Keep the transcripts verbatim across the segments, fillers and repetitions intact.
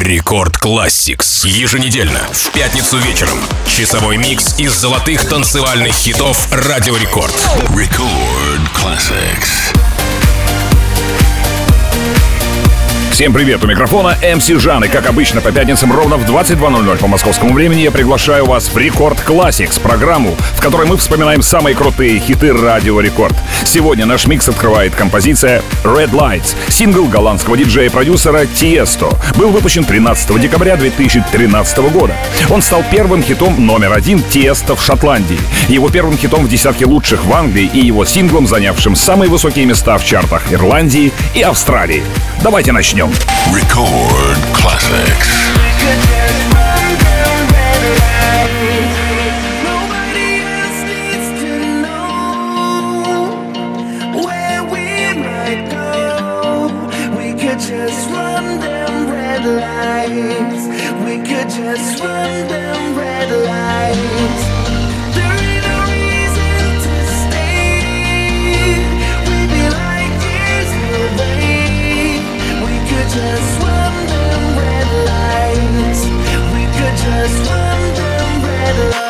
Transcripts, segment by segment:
Рекорд Classics. Еженедельно, в пятницу вечером. Часовой микс из золотых танцевальных хитов Радио Рекорд. Record Classics. Всем привет, у микрофона эм си Жан, и как обычно по пятницам ровно в двадцать два ноль ноль по московскому времени я приглашаю вас в Рекорд Classics, программу, в которой мы вспоминаем самые крутые хиты Радио Рекорд. Сегодня наш микс открывает композиция Red Lights, сингл голландского диджея и продюсера Тиесто. Был выпущен тринадцатого декабря две тысячи тринадцатого года. Он стал первым хитом номер один Тиесто в Шотландии, его первым хитом в десятке лучших в Англии и его синглом, занявшим самые высокие места в чартах Ирландии и Австралии. Давайте начнем. Record Classics. Just run them red lights. We could just run them red lights. There ain't no reason to stay. We'll be like years away. We could just run them red lights. We could just run them red lights.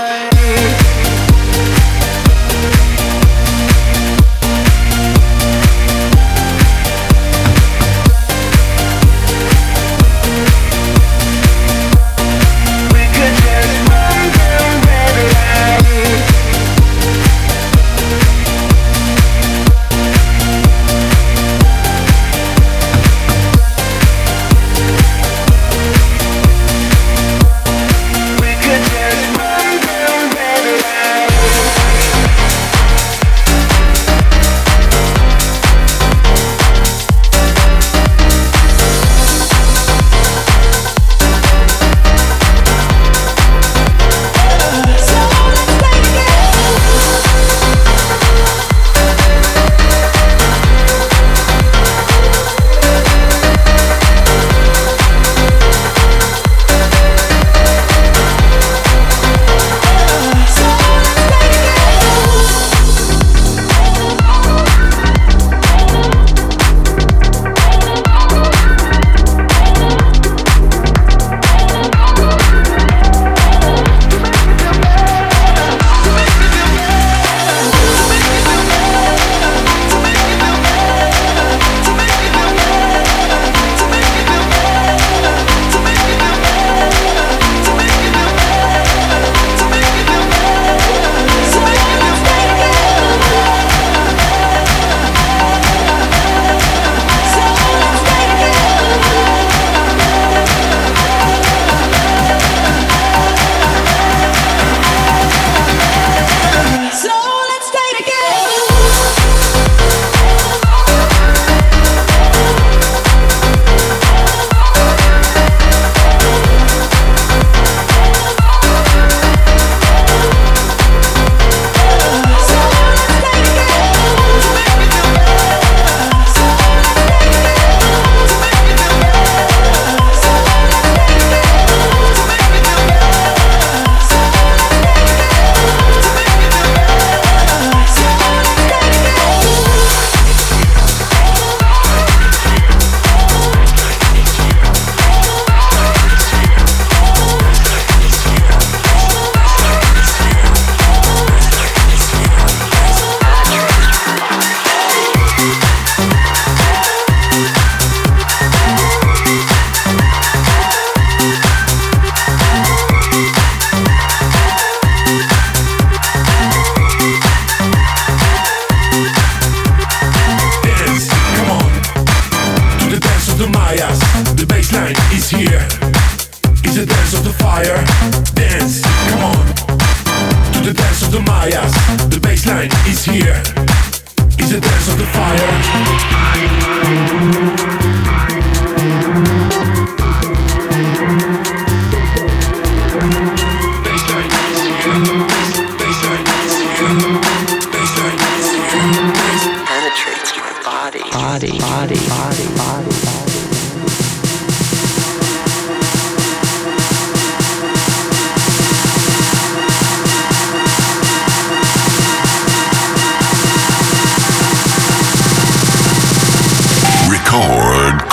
Record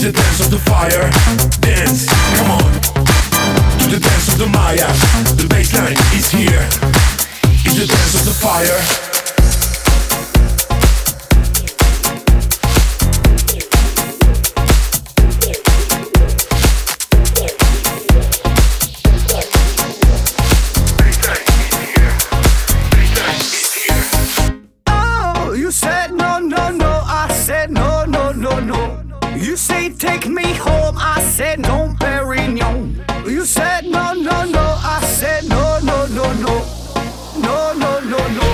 the dance of the fire. Dance, come on. To the dance of the Maya. The bassline is here. It's the dance of the fire. You say take me home, I said no, Perignon. You said no, no, no, I said no, no, no, no, no, no, no, no.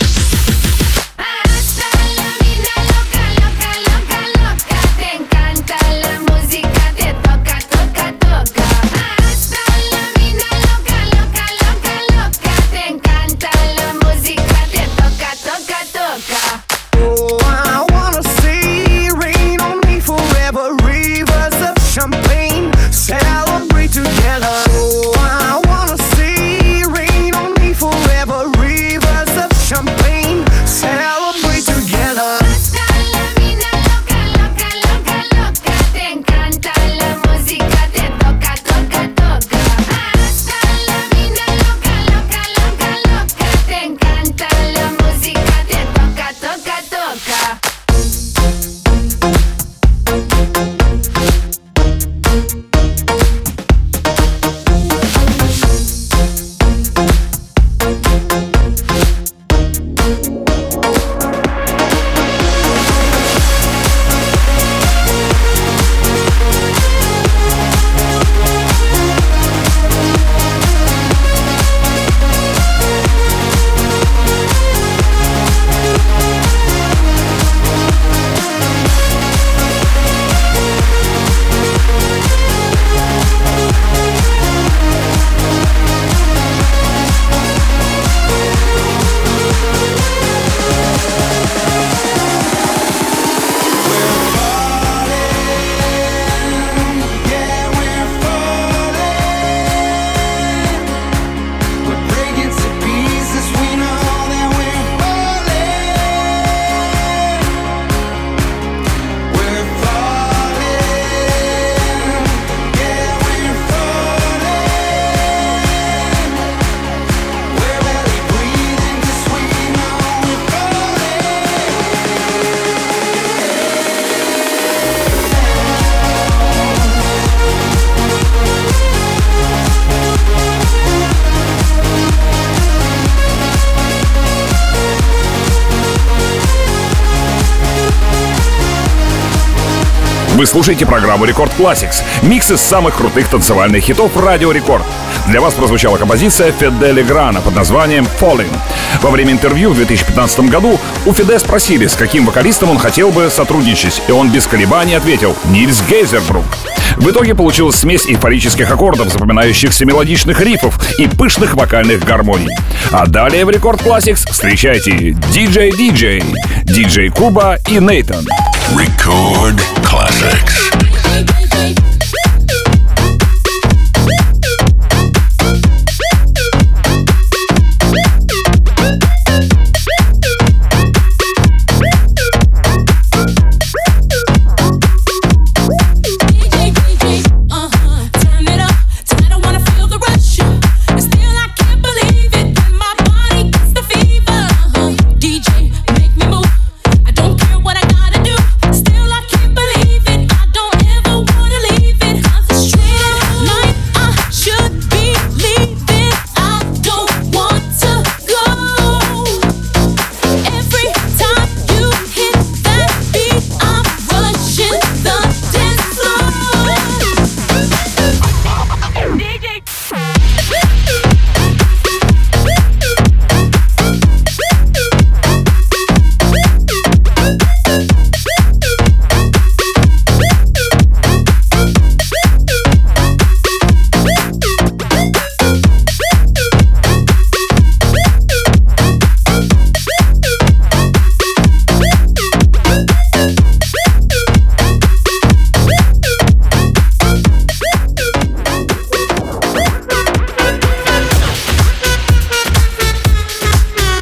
Hasta la vida loca, loca, loca, loca. Te encanta la música, te toca, toca, toca. Hasta la vida loca, loca, loca, loca. Te encanta la música, te toca, toca, toca. Oh, I wanna see rain on me forever, rivers of champagne, celebrate together. Oh, I wanna see rain on me forever, rivers of champagne, celebrate together. Hasta la vida loca, loca, loca, loca. Te encanta la música, te toca, toca, toca. Hasta la vida loca, loca, loca, loca. Te encanta la música, te toca, toca, toca. Вы слушаете программу Рекорд Classics. Микс из самых крутых танцевальных хитов Радио Рекорд. Для вас прозвучала композиция Феде Леграна под названием «Falling». Во время интервью в две тысячи пятнадцатом году у Феде спросили, с каким вокалистом он хотел бы сотрудничать, и он без колебаний ответил «Нильс Гейзербрук». В итоге получилась смесь эйфорических аккордов, запоминающихся мелодичных рифов и пышных вокальных гармоний. А далее в Рекорд Classics встречайте диджей-диджей, диджей Куба и Нейтан. Record Classics.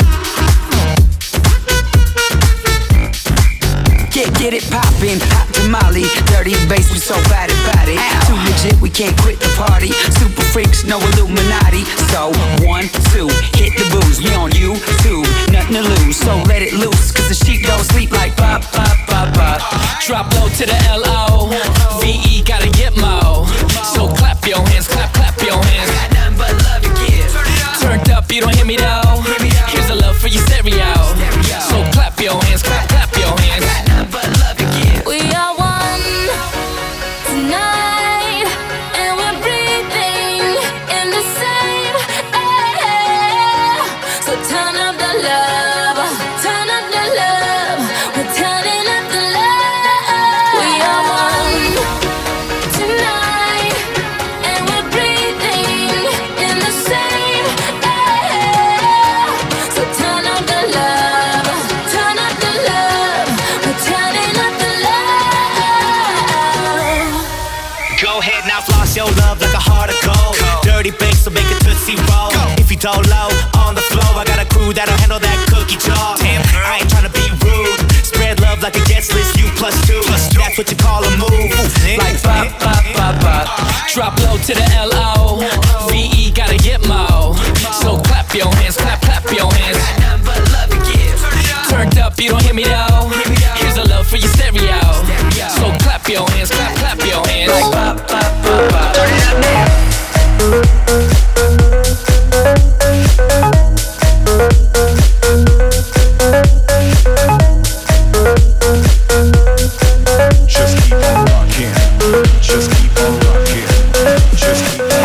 Get it poppin', pop the Molly, dirty bass, we so bad about it. Too legit, we can't quit the party. Super freaks, no Illuminati. So, one, two, hit the booze. We on you, two, nothing to lose. So let it loose, cause the sheep don't sleep like pop, pop, pop, pop. Drop low to the L O V E, gotta get mo. So clap your hands, clap, clap your hands. Got nothing but love to give. Turned up, you don't hear me though. Here's a love for your stereo. So clap your hands, clap, clap your hands. Got nothing but love to give. We are one tonight, and we're breathing in the same air. So turn up the love, turn up the love. We're turning up the love. We are one tonight, and we're breathing in the same air. So turn up the love, turn up the love. We're turning up the love. Go ahead now, floss your love like a heart of gold. Dirty bass, so make it tootsie roll. If you don't low on the floor, I got a crew that'll handle that cookie jar. I ain't tryna be rude. Spread love like a guest list, you plus two. That's what you call a move. Like pop, pop, pop, pop. Drop low to the L O V E, gotta get mo. So clap your hands, clap, clap your hands. Got nothing but love to give. Turned up, you don't hear me though. Here's a love for your stereo. So clap your hands, clap, clap your hands. Like pop, pop, pop, pop. Turn it up now. Just keep on rocking. Just keep on rocking. Just keep on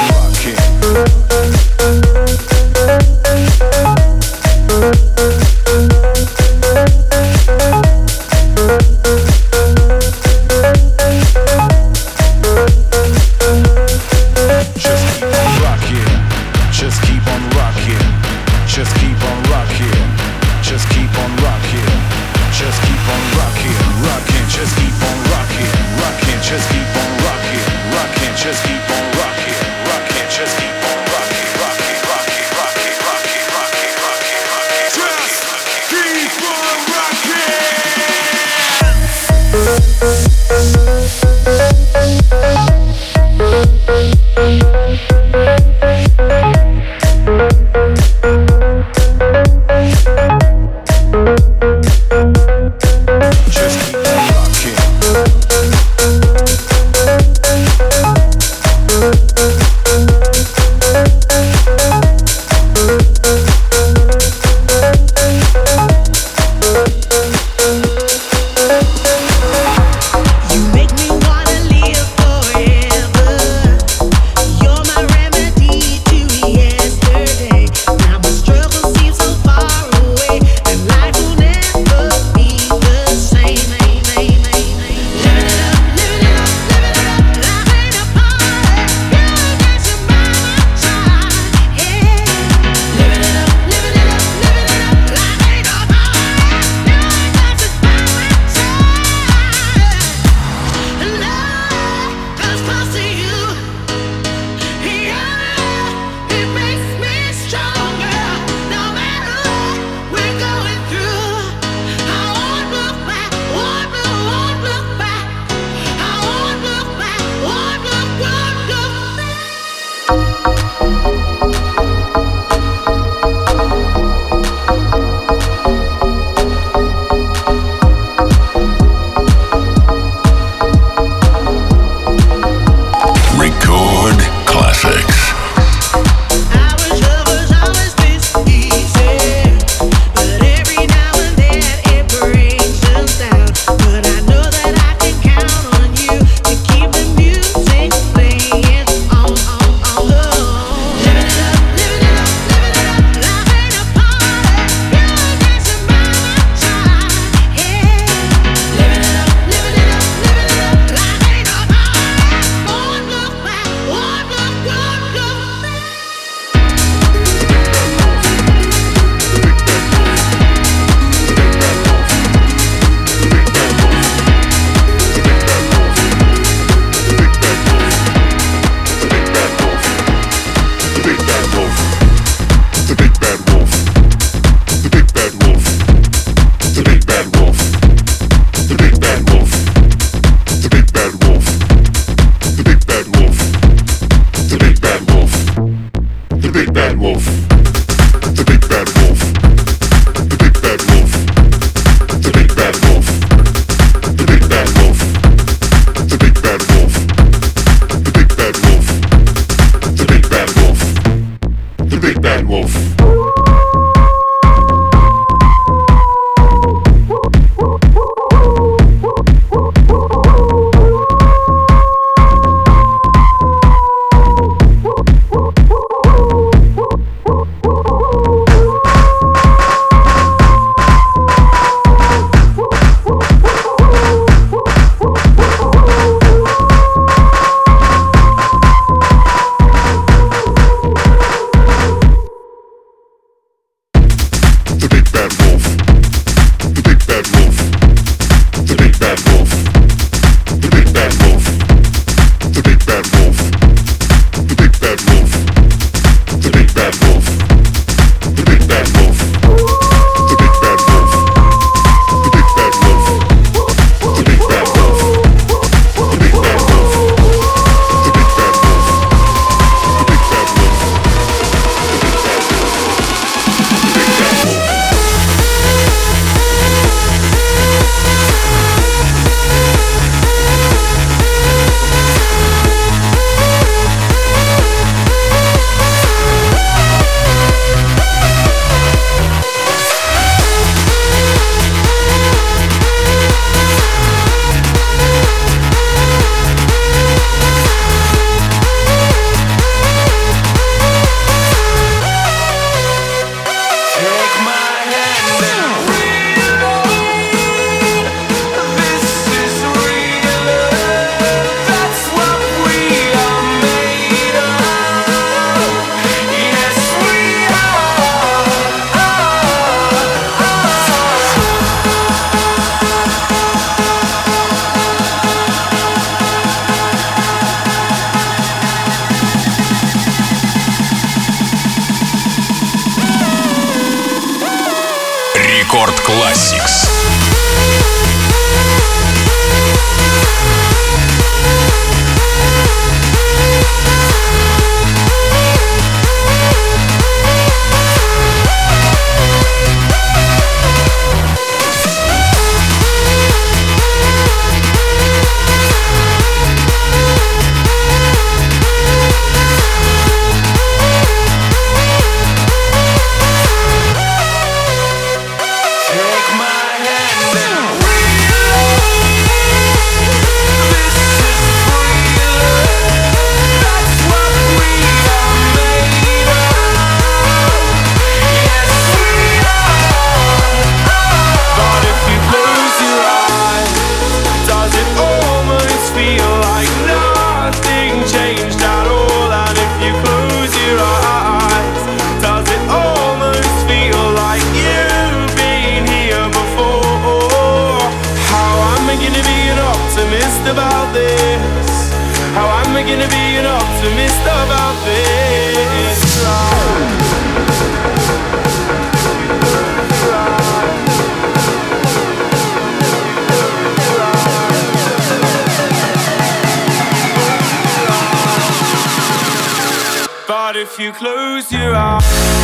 if you close your eyes.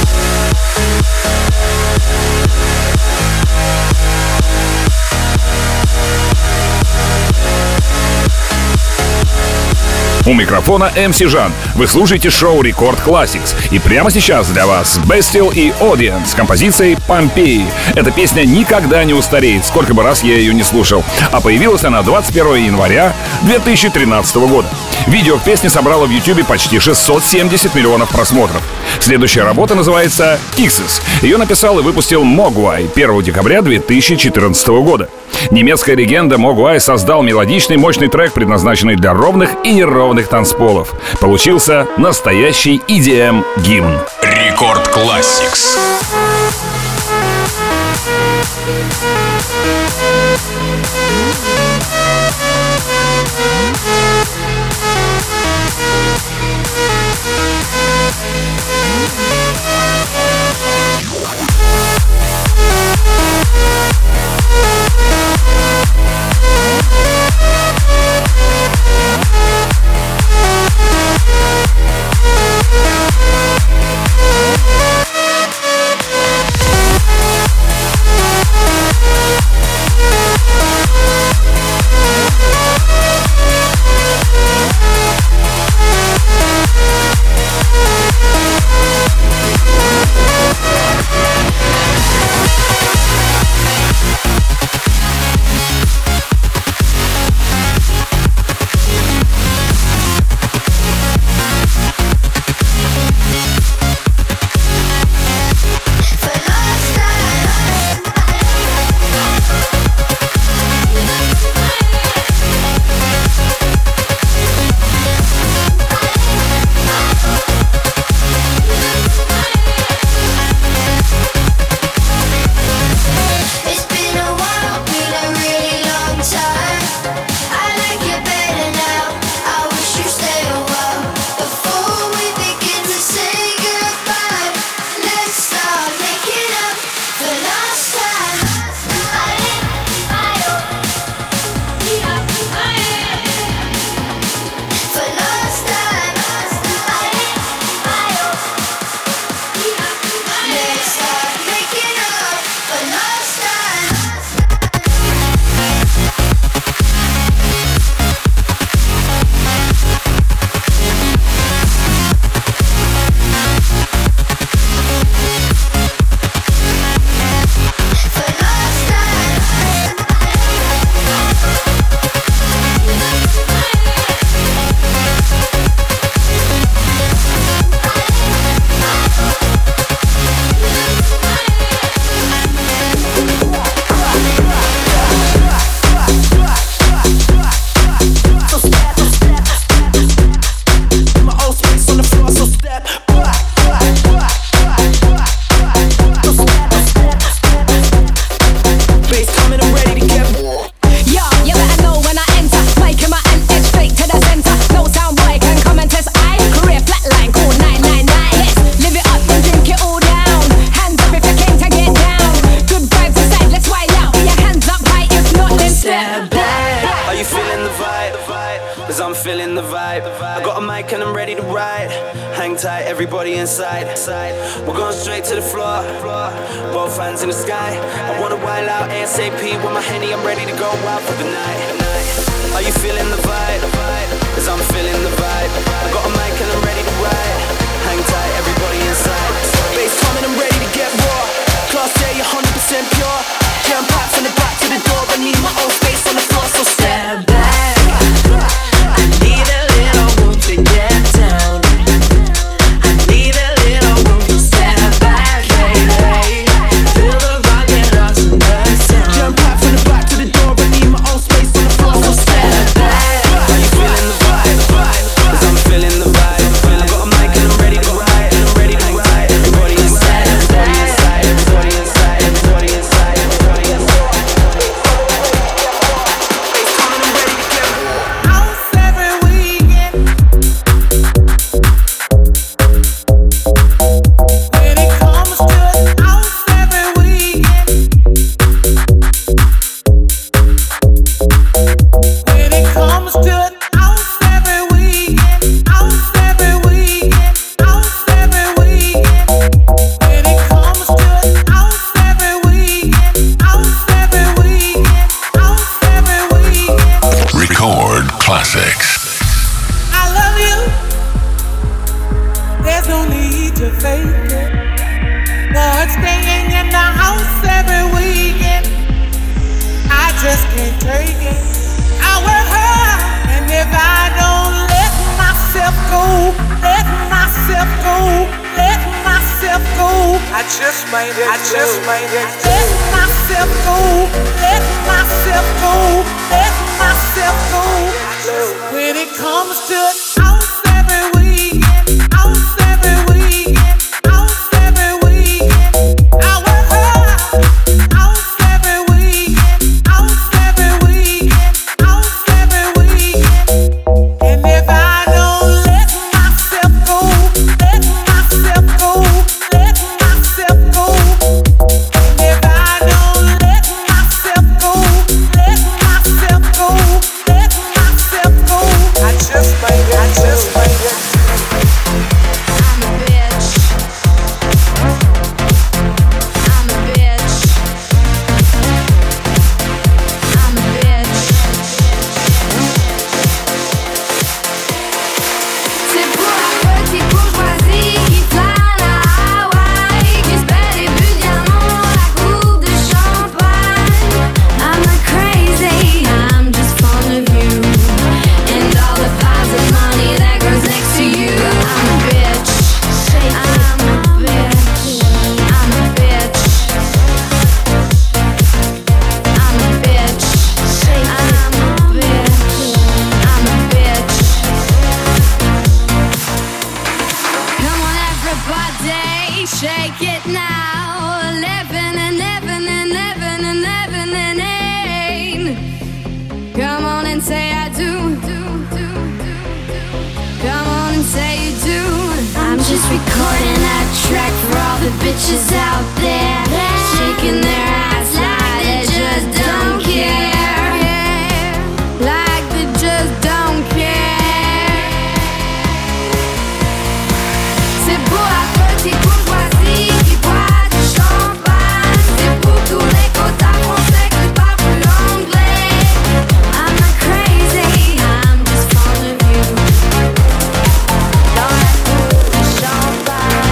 У микрофона эм си Жан. Вы слушаете шоу Record Classics. И прямо сейчас для вас Bastille и Audience с композицией «Помпеи». Эта песня никогда не устареет, сколько бы раз я ее не слушал. А появилась она двадцать первого января две тысячи тринадцатого года. Видео к песне собрало в YouTube почти шестьсот семьдесят миллионов просмотров. Следующая работа называется «Kisses». Ее написал и выпустил Mogwai первого декабря две тысячи четырнадцатого года. Немецкая легенда Mogwai создал мелодичный мощный трек, предназначенный для ровных и неровных танцполов. Получился настоящий и ди эм-гимн. Рекорд Classics. Everybody inside, we're going straight to the floor. Both hands in the sky. I wanna wild out ASAP with my Henny. I'm ready to go out for the night. Are you feeling the vibe? Cause I'm feeling the vibe. I got a mic and I'm ready to ride. Hang tight, everybody inside. Bass coming, I'm ready to get raw. Class A, one hundred percent pure. Jam packed from the back to the door. I need my own space on the floor, so step back. I need a little room to get down. might, I just might let myself go, let myself go, let myself go. When it comes to house every weekend, house every weekend, house every weekend, I work hard. House every weekend, house every weekend, house every weekend. And if I don't let myself go, let myself go, let myself go. And if I don't let myself go, let myself go, let myself go, I just might, I just might. I'm a bitch. I'm a bitch. I'm a bitch. C'est pour la petite bourgeoisie qui plane à Hawaï, qui se pète des buts de diamant, la coupe de champagne. I'm not crazy, I'm just fond of you and all the piles of money that grows next to you. I'm a bitch. I'm a bitch. I'm a bitch. I'm a bitch. I'm a bitch. I'm a bitch. Come on, everybody, shake it now. Living and living and living and living and ain't. Come on and say I do. Come on and say you do. I'm just recording a track for all the bitches out there, shaking their ass like they just don't care. Like they just don't care. C'est pour la petite bourgeoisie qui boit du champagne. C'est pour tous les quotas français qui parlent plus anglais. I'm not crazy, I'm just fond of you. Dans la coupe de champagne.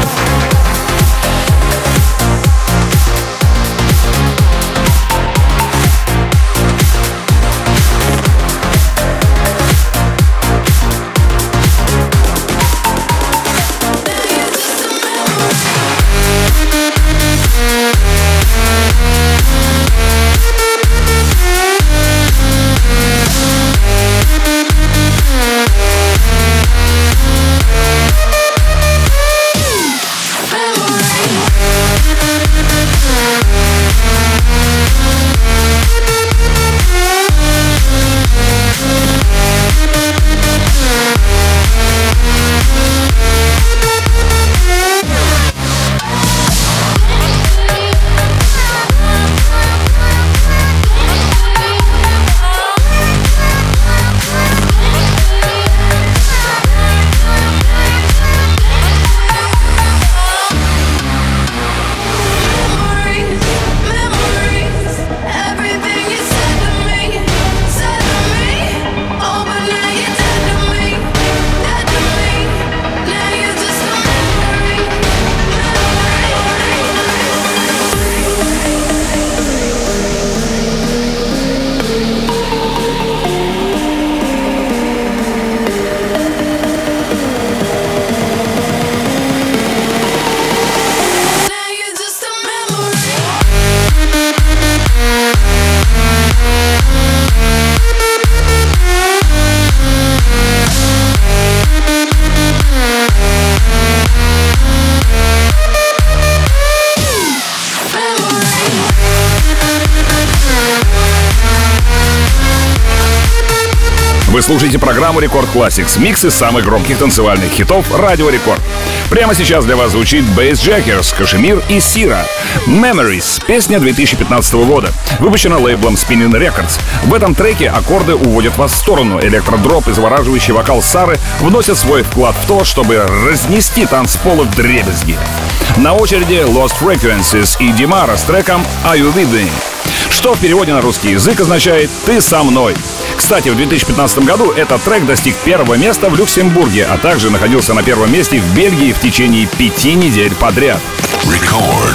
Вы слушаете программу Рекорд Classics, микс из самых громких танцевальных хитов Радио Рекорд. Прямо сейчас для вас звучит Bassjackers, Кашемир и Сира. Memories, песня две тысячи пятнадцатого года, выпущена лейблом Spinning Records. В этом треке аккорды уводят вас в сторону. Электродроп и завораживающий вокал Сары вносят свой вклад в то, чтобы разнести танцполы вдребезги. На очереди Lost Frequencies и Димара с треком Are You With Me, что в переводе на русский язык означает «Ты со мной». Кстати, в две тысячи пятнадцатом году этот трек достиг первого места в Люксембурге, а также находился на первом месте в Бельгии в течение пяти недель подряд. Record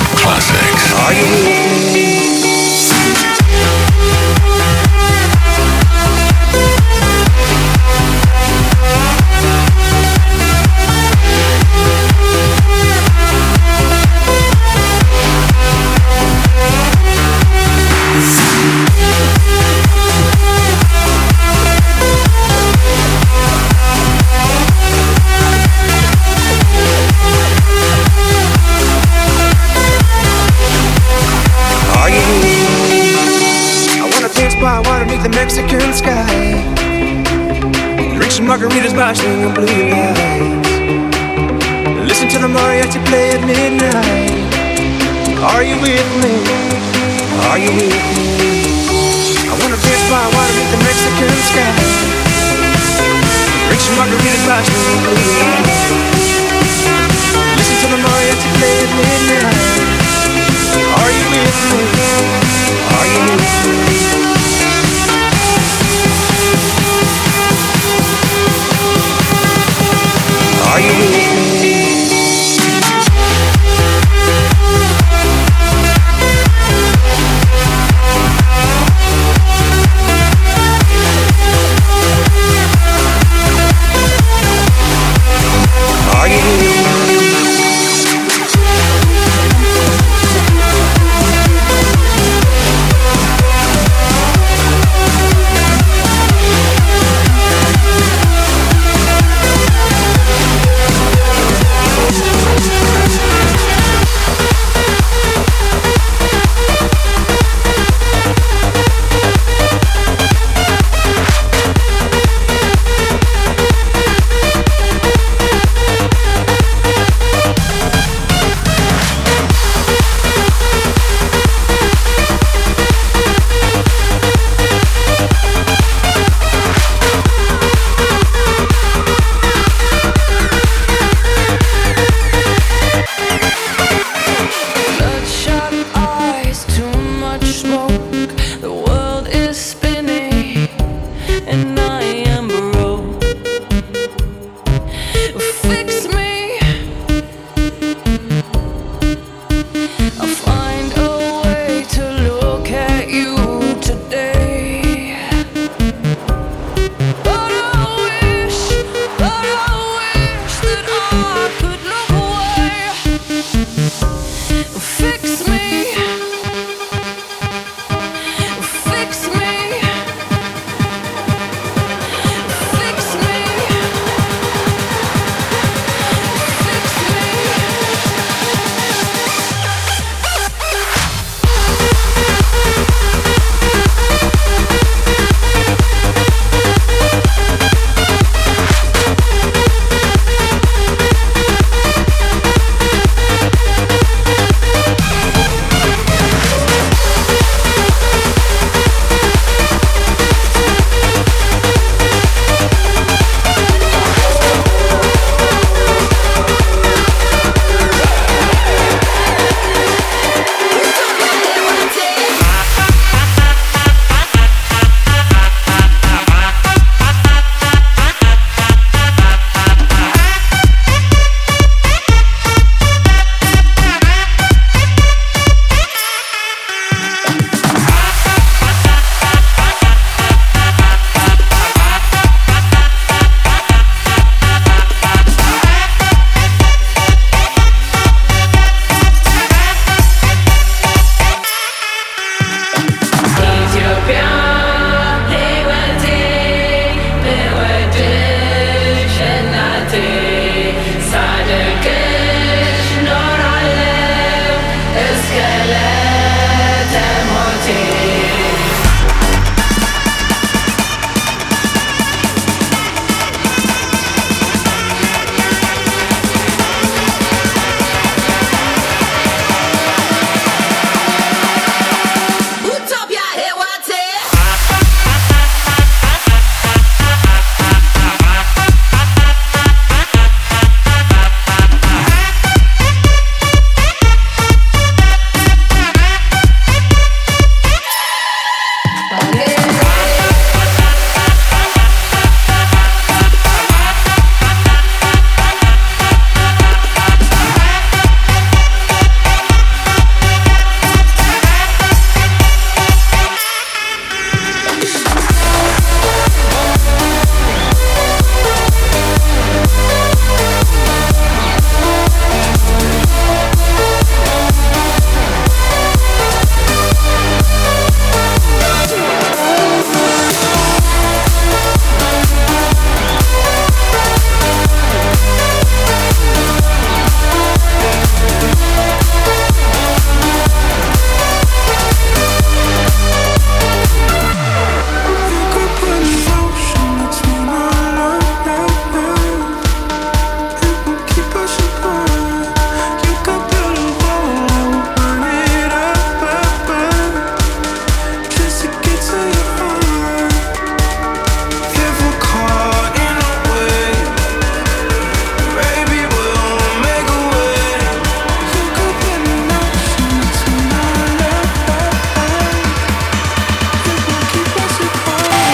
Classics. water beneath the Mexican sky. Drink some margaritas by swinging blue lights. Listen to the mariachi play at midnight. Are you with me? Are you with me? I wanna dance by water beneath the Mexican sky. Drink some margaritas by swinging blue lights. Listen to the mariachi play at midnight. Are you with me? Are you with me? Are you with me? Are you with me?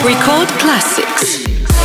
Record Classics.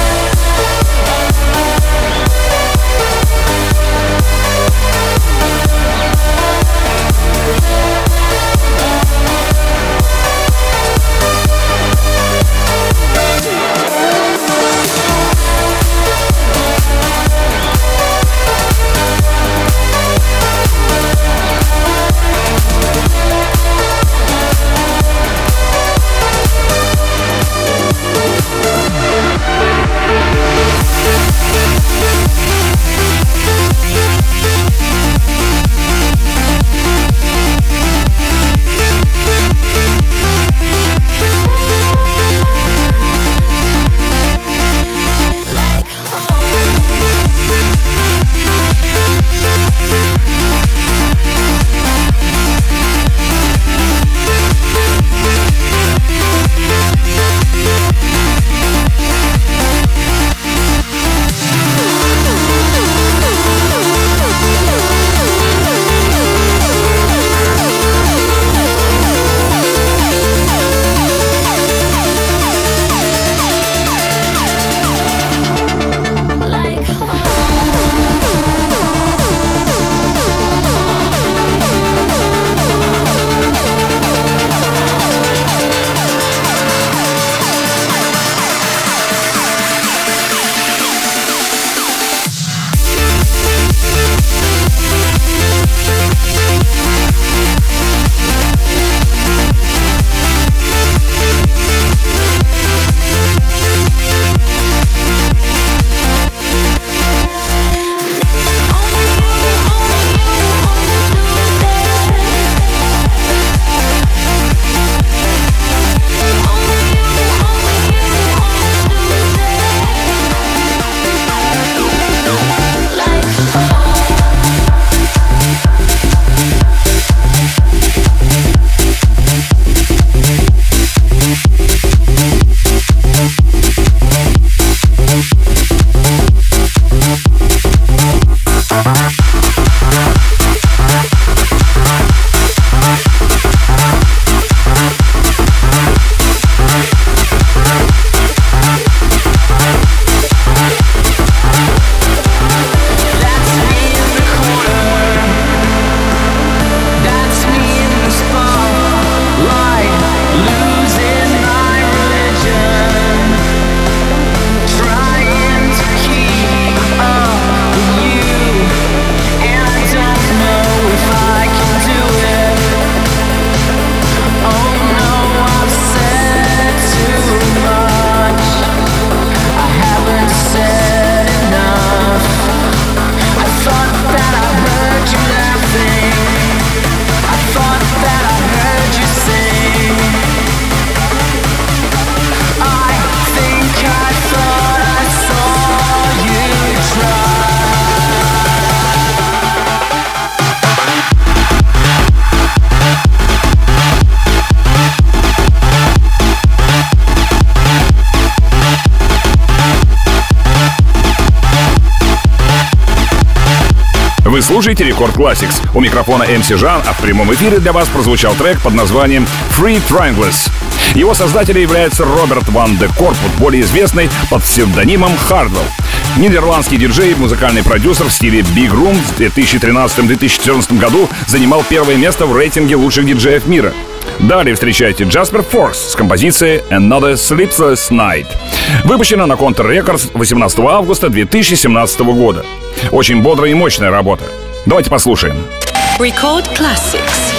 Вы слушаете Рекорд Classics. У микрофона эм си Жан, а в прямом эфире для вас прозвучал трек под названием Free Triangles. Его создателем является Роберт Ван де Корпут, более известный под псевдонимом Hardwell. Нидерландский диджей и музыкальный продюсер в стиле Big Room в две тысячи тринадцатом — две тысячи четырнадцатом году занимал первое место в рейтинге лучших диджеев мира. Далее встречайте Jasper Force с композицией Another Sleepless Night. Выпущена на Counter Records восемнадцатого августа две тысячи семнадцатого года. Очень бодрая и мощная работа. Давайте послушаем. Record Classics.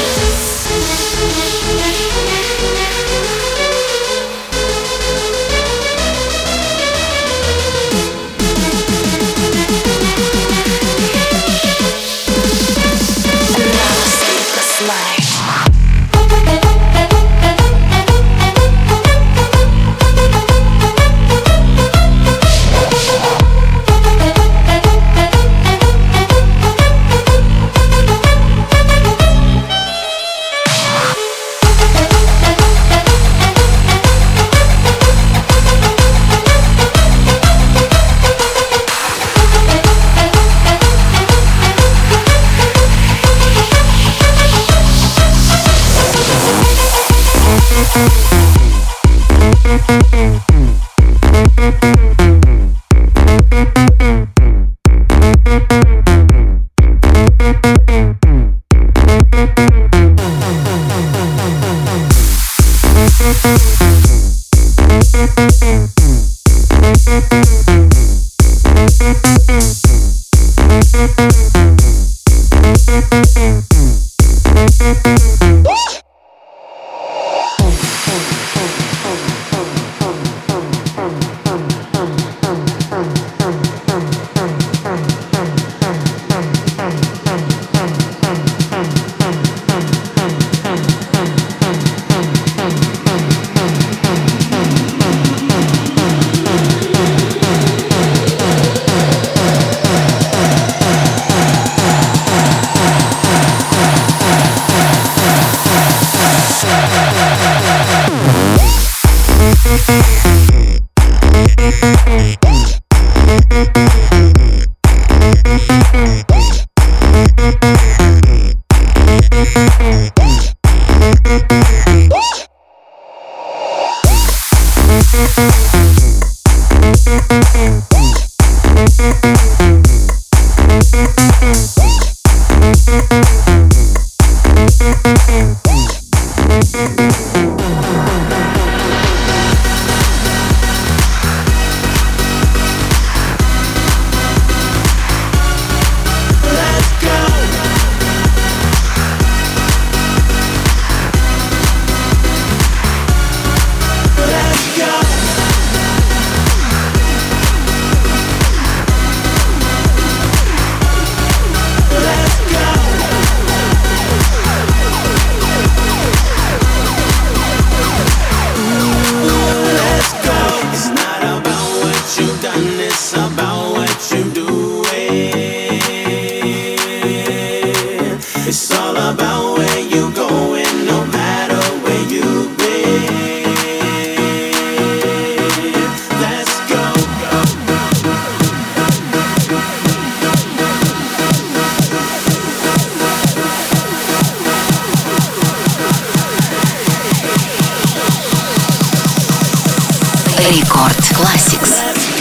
Рекорд Classics.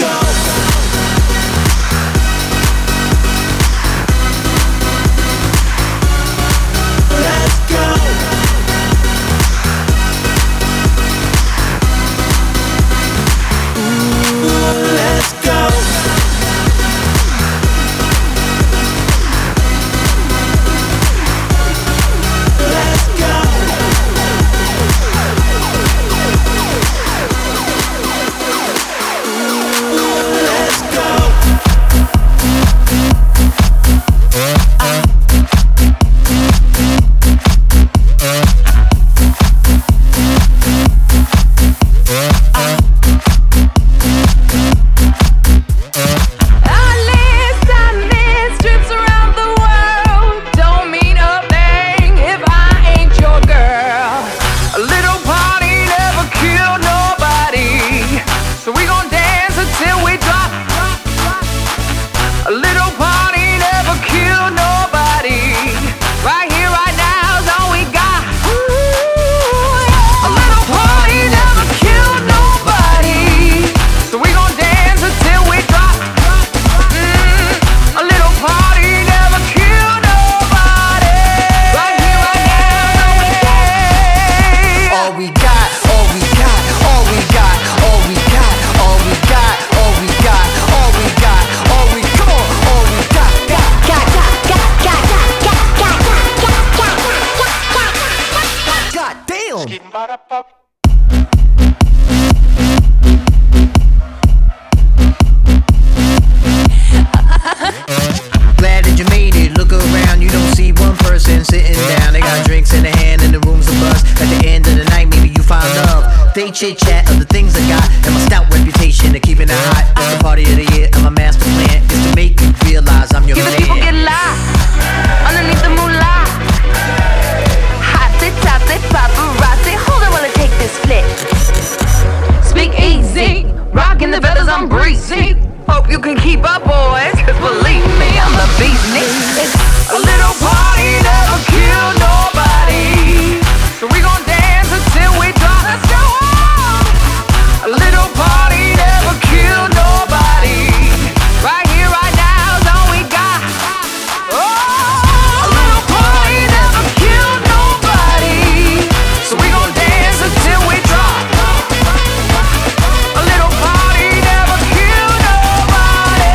Glad that you made it. Look around, you don't see one person sitting down. They got drinks in their hand and the room's a buzz. At the end of the night, maybe you find love. They chit chat of the things I got and my stout reputation of keeping it hot. It's the party of the year and my master plan is to make you realize I'm your Giving man. people get lost underneath the moolah. Hotty totty paparazzi. Hold on while I take this flick. Speak easy, rocking the feathers, I'm breezy. Hope you can keep up, boys, cause believe me, I'm the beast. A little party never killed nobody, so we gon' dance until we drop. Let's go on. A little party never killed nobody. Right here, right now is all we got. Oh, a little party never killed nobody, so we gon' dance until we drop. A little party never killed nobody.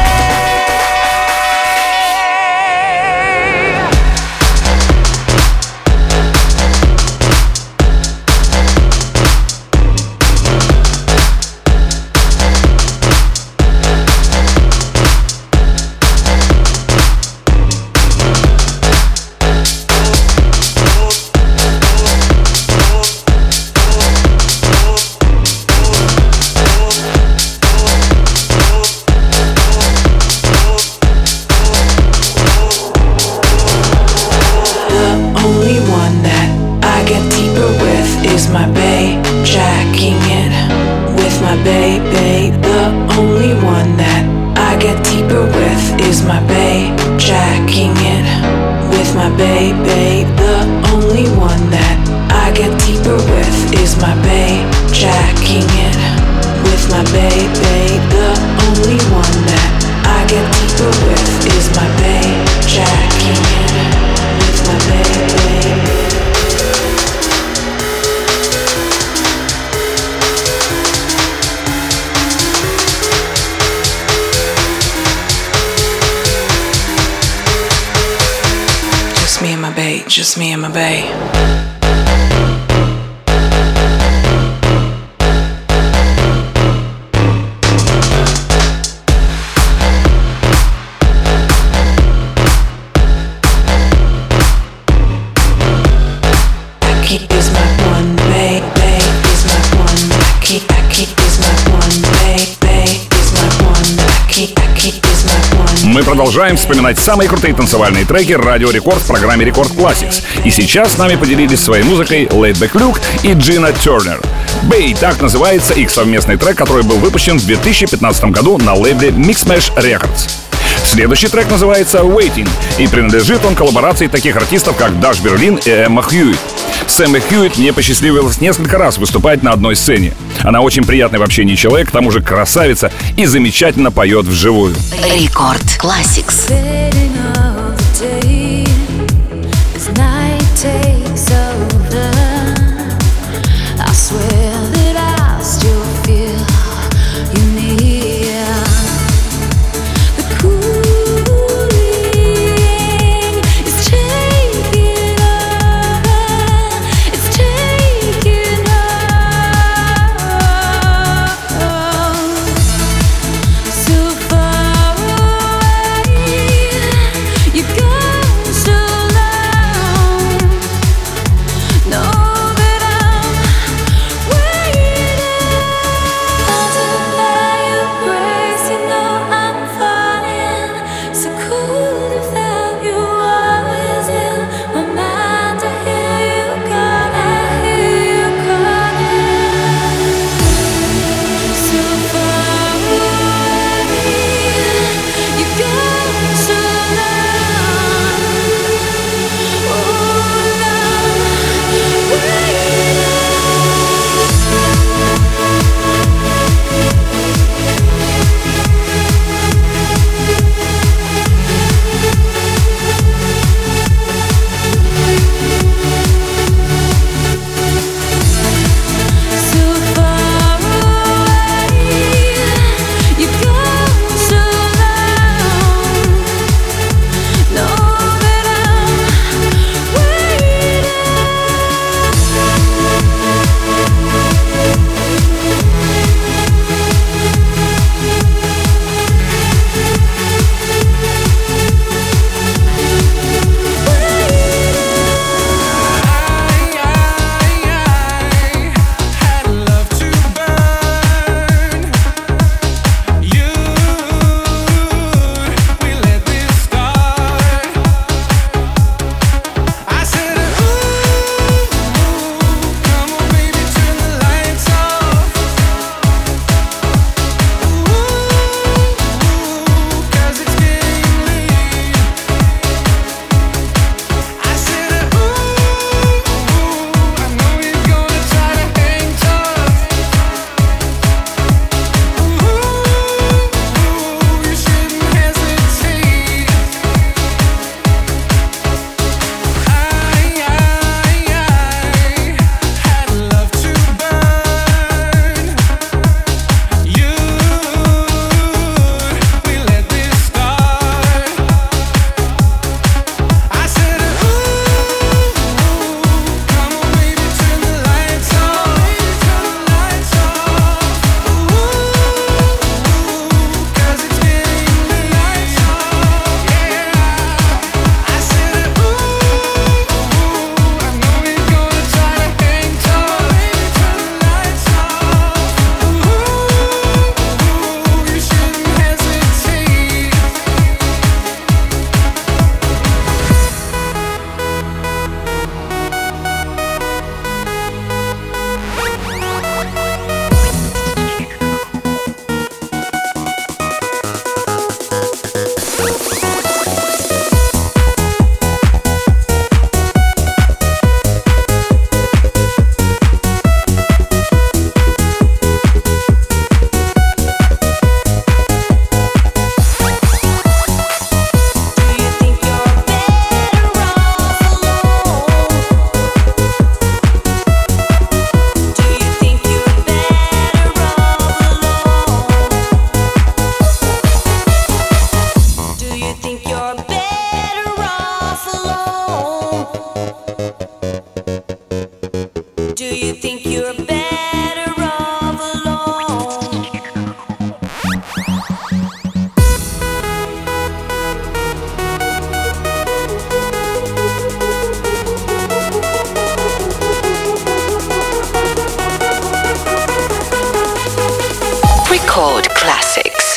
The only one that I get deeper with is my bae, jacking it with my bae, bae. The only one that I get deeper with is my bae, jacking it with my bae, bae. The only one that I get deeper with is my bae, jacking it just me and my bae. Мы продолжаем вспоминать самые крутые танцевальные треки Радио Рекорд в программе Рекорд Classics. И сейчас с нами поделились своей музыкой Laidback Luke и Джина Тернер. Bay — так называется их совместный трек, который был выпущен в две тысячи пятнадцатом году на лейбле Mixmash Records. Следующий трек называется Waiting, и принадлежит он коллаборации таких артистов, как Даш Берлин и Эмма Хьюитт. С Эммой Хьюитт мне посчастливилось несколько раз выступать на одной сцене. Она очень приятный в общении человек, к тому же красавица и замечательно поет вживую. Рекорд Classics. So far away. Record Classics.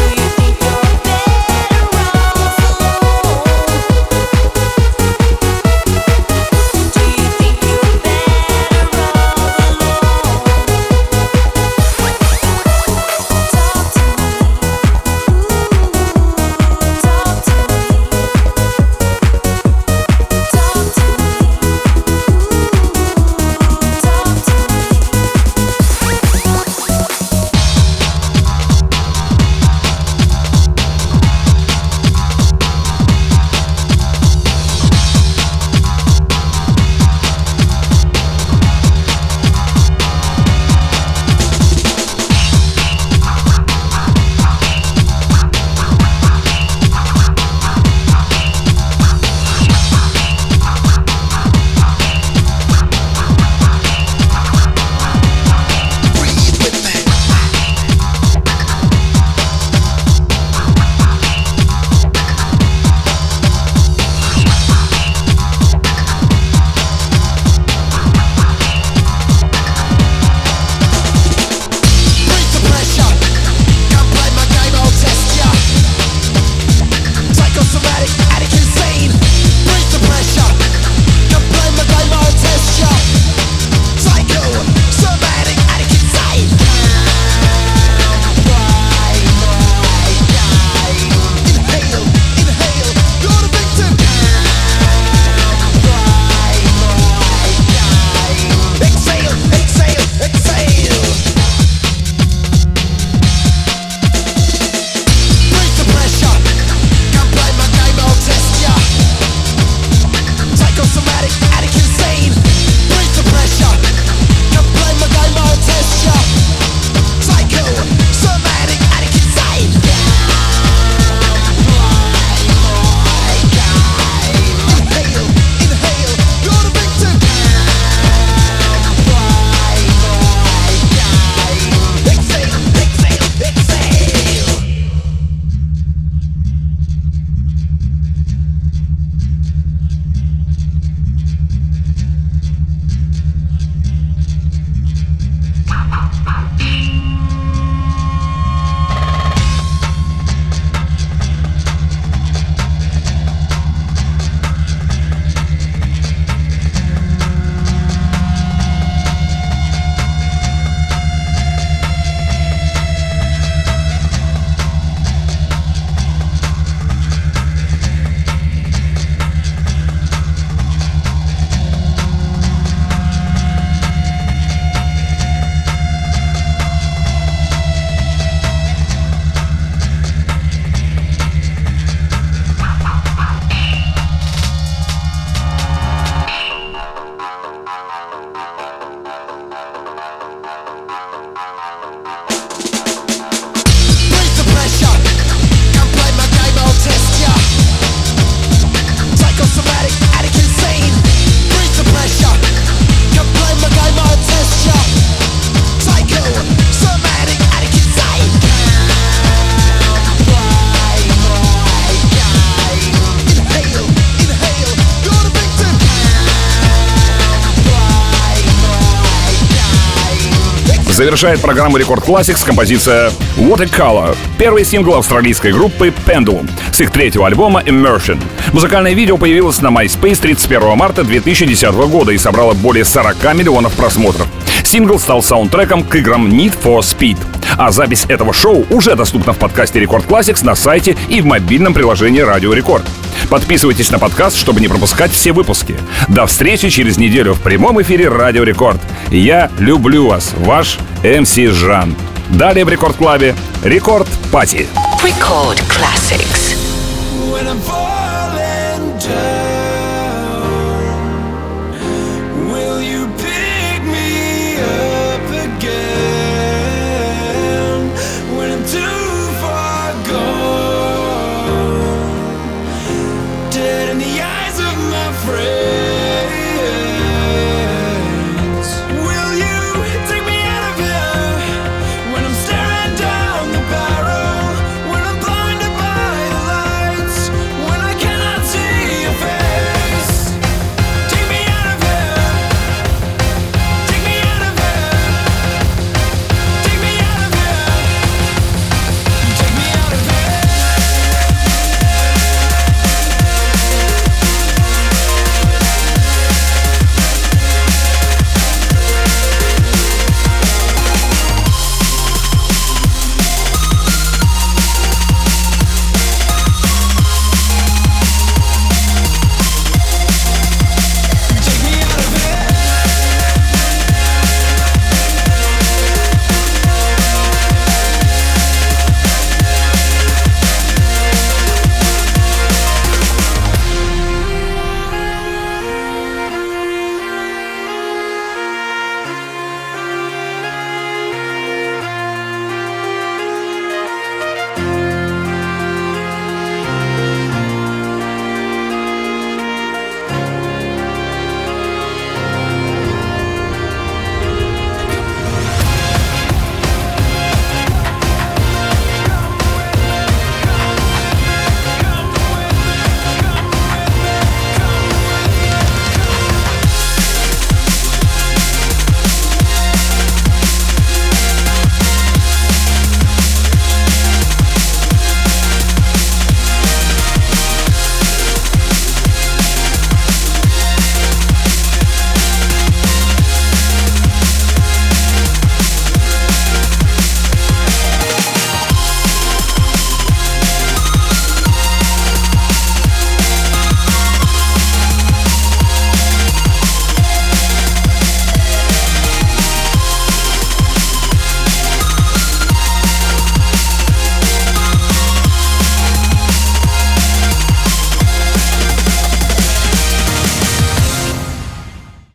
Завершает программу Рекорд Classics композиция What a Color, первый сингл австралийской группы Pendulum с их третьего альбома Immersion. Музыкальное видео появилось на MySpace тридцать первого марта две тысячи десятого года и собрало более сорока миллионов просмотров. Сингл стал саундтреком к играм Need for Speed. А запись этого шоу уже доступна в подкасте Record Classics на сайте и в мобильном приложении Радио Рекорд. Подписывайтесь на подкаст, чтобы не пропускать все выпуски. До встречи через неделю в прямом эфире Радио Рекорд. Я люблю вас, ваш эм си Жан. Далее в Рекорд Клабе Рекорд Пати. Record Classics. When I'm